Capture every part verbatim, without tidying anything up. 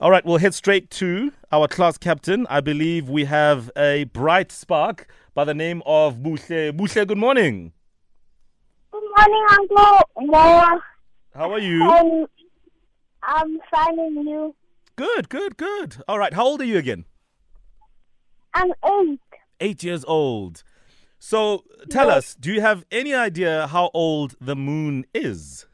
All right, we'll head straight to our class captain. I believe we have a bright spark by the name of Buhle. Buhle, good morning. Good morning, Uncle Mo. How are you? Um, I'm fine and you? Good, good, good. All right, how old are you again? I'm eight. Eight years old. So tell Yes. us, do you have any idea how old the moon is?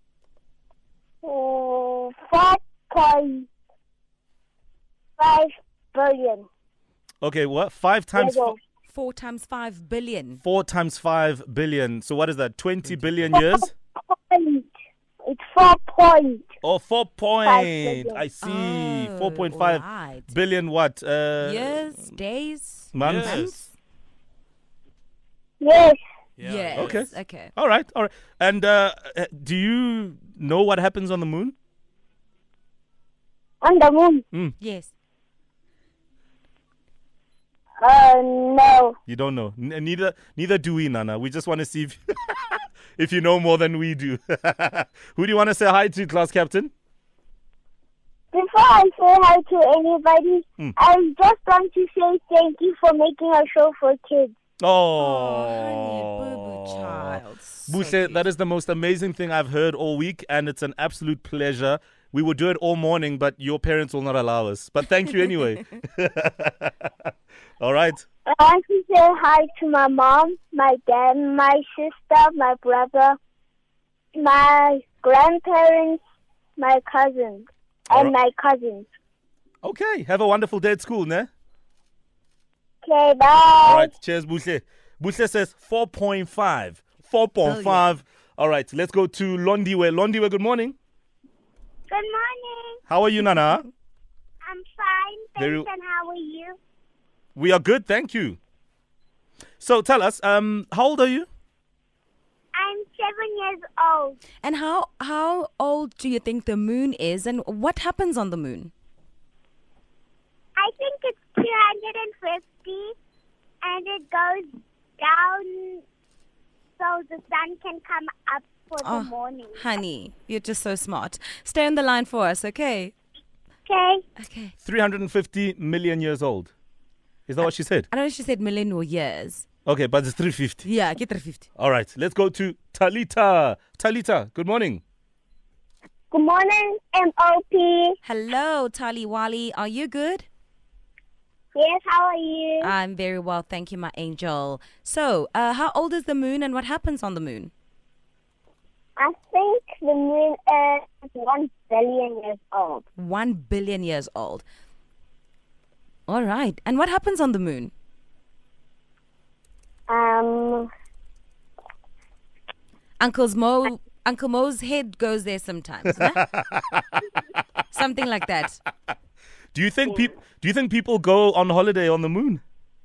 Oh, four point five billion. Okay, what? Five times Years four, old. Four times five billion. four times five billion. So what is that? Twenty billion years? Point. It's four point. Oh, four point. billion. I see. Oh, Four point five right. billion. What? Uh, Years, days, months. months. Yes. Yeah. Yes. Okay. Okay. All right, all right. And uh, uh, do you know what happens on the moon? On the moon. Yes. Uh, no. You don't know. N- neither, neither do we, Nana. We just want to see if, if you know more than we do. Who do you want to say hi to, class captain? Before I say hi to anybody, Hmm. I just want to say thank you for making a show for kids. Oh, Oh, honey, boo-boo child. So Buhle, cute. that is the most amazing thing I've heard all week, and it's an absolute pleasure. We would do it all morning, but your parents will not allow us. But thank you anyway. All right. I want to say hi to my mom, my dad, my sister, my brother, my grandparents, my cousins, and Alright. my cousins. Okay. Have a wonderful day at school, ne? Okay, bye. All right. Cheers, Buhle. Buhle says four point five. four point five. All right. Let's go to Londiwe. Londiwe, good morning. Good morning. How are you, Nana? I'm fine. Thanks, Very- and how are you? We are good, thank you. So tell us, um, how old are you? I'm seven years old. And how how old do you think the moon is, and what happens on the moon? I think it's two hundred fifty, and it goes down so the sun can come up for Oh. the morning. Honey, you're just so smart. Stay on the line for us, okay? Okay. Okay. three hundred fifty million years old. Is that what she said? I know she said million or years. Okay, but it's three hundred fifty. Yeah, get three fifty. All right, let's go to Talita. Talita, good morning. Good morning, M O P. Hello, Tali Wali. Are you good? Yes, how are you? I'm very well, thank you, my angel. So, uh, how old is the moon, and what happens on the moon? I think the moon is one billion years old. One billion years old. All right. And what happens on the moon? Um, Uncle's Mo, Uncle Mo's head goes there sometimes. Nah? Something like that. Do you think peop- Do you think people go on holiday on the moon?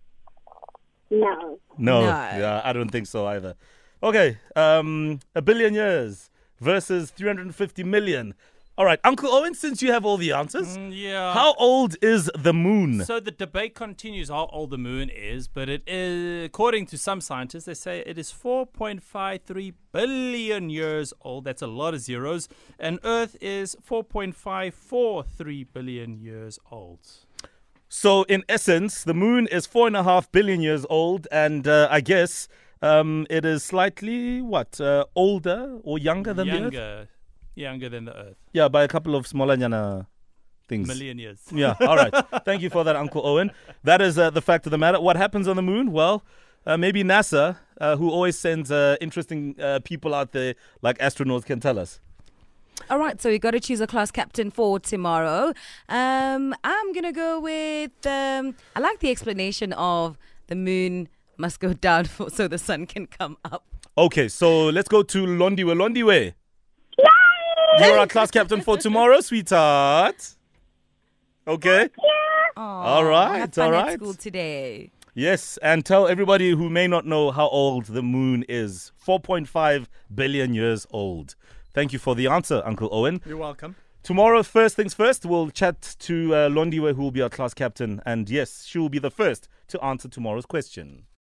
no. No. No. Yeah, I don't think so either. Okay, um, a billion years versus three hundred fifty million. All right, Uncle Owen, since you have all the answers, Mm, yeah. how old is the moon? So the debate continues how old the moon is, but it is, according to some scientists, they say it is four point five three billion years old. That's a lot of zeros. And Earth is four point five four three billion years old. So, in essence, the moon is four and a half billion years old, and uh, I guess um, it is slightly what uh, older or younger than the Earth. Younger, younger than the Earth. Yeah, by a couple of smaller nyana things. Million years. Yeah. All right. Thank you for that, Uncle Owen. That is uh, the fact of the matter. What happens on the moon? Well, uh, maybe NASA, uh, who always sends uh, interesting uh, people out there like astronauts, can tell us. All right, so we got to choose a class captain for tomorrow. Um, I'm going to go with, um, I like the explanation of the moon must go down for, so the sun can come up. Okay, so let's go to Londiwe. Londiwe, you're our class captain for tomorrow, sweetheart. Okay. Aw, All right, have fun all at right. school today. Yes, and tell everybody who may not know how old the moon is. four point five billion years old. Thank you for the answer, Uncle Owen. You're welcome. Tomorrow, first things first, we'll chat to uh, Londiwe, who will be our class captain. And yes, she will be the first to answer tomorrow's question.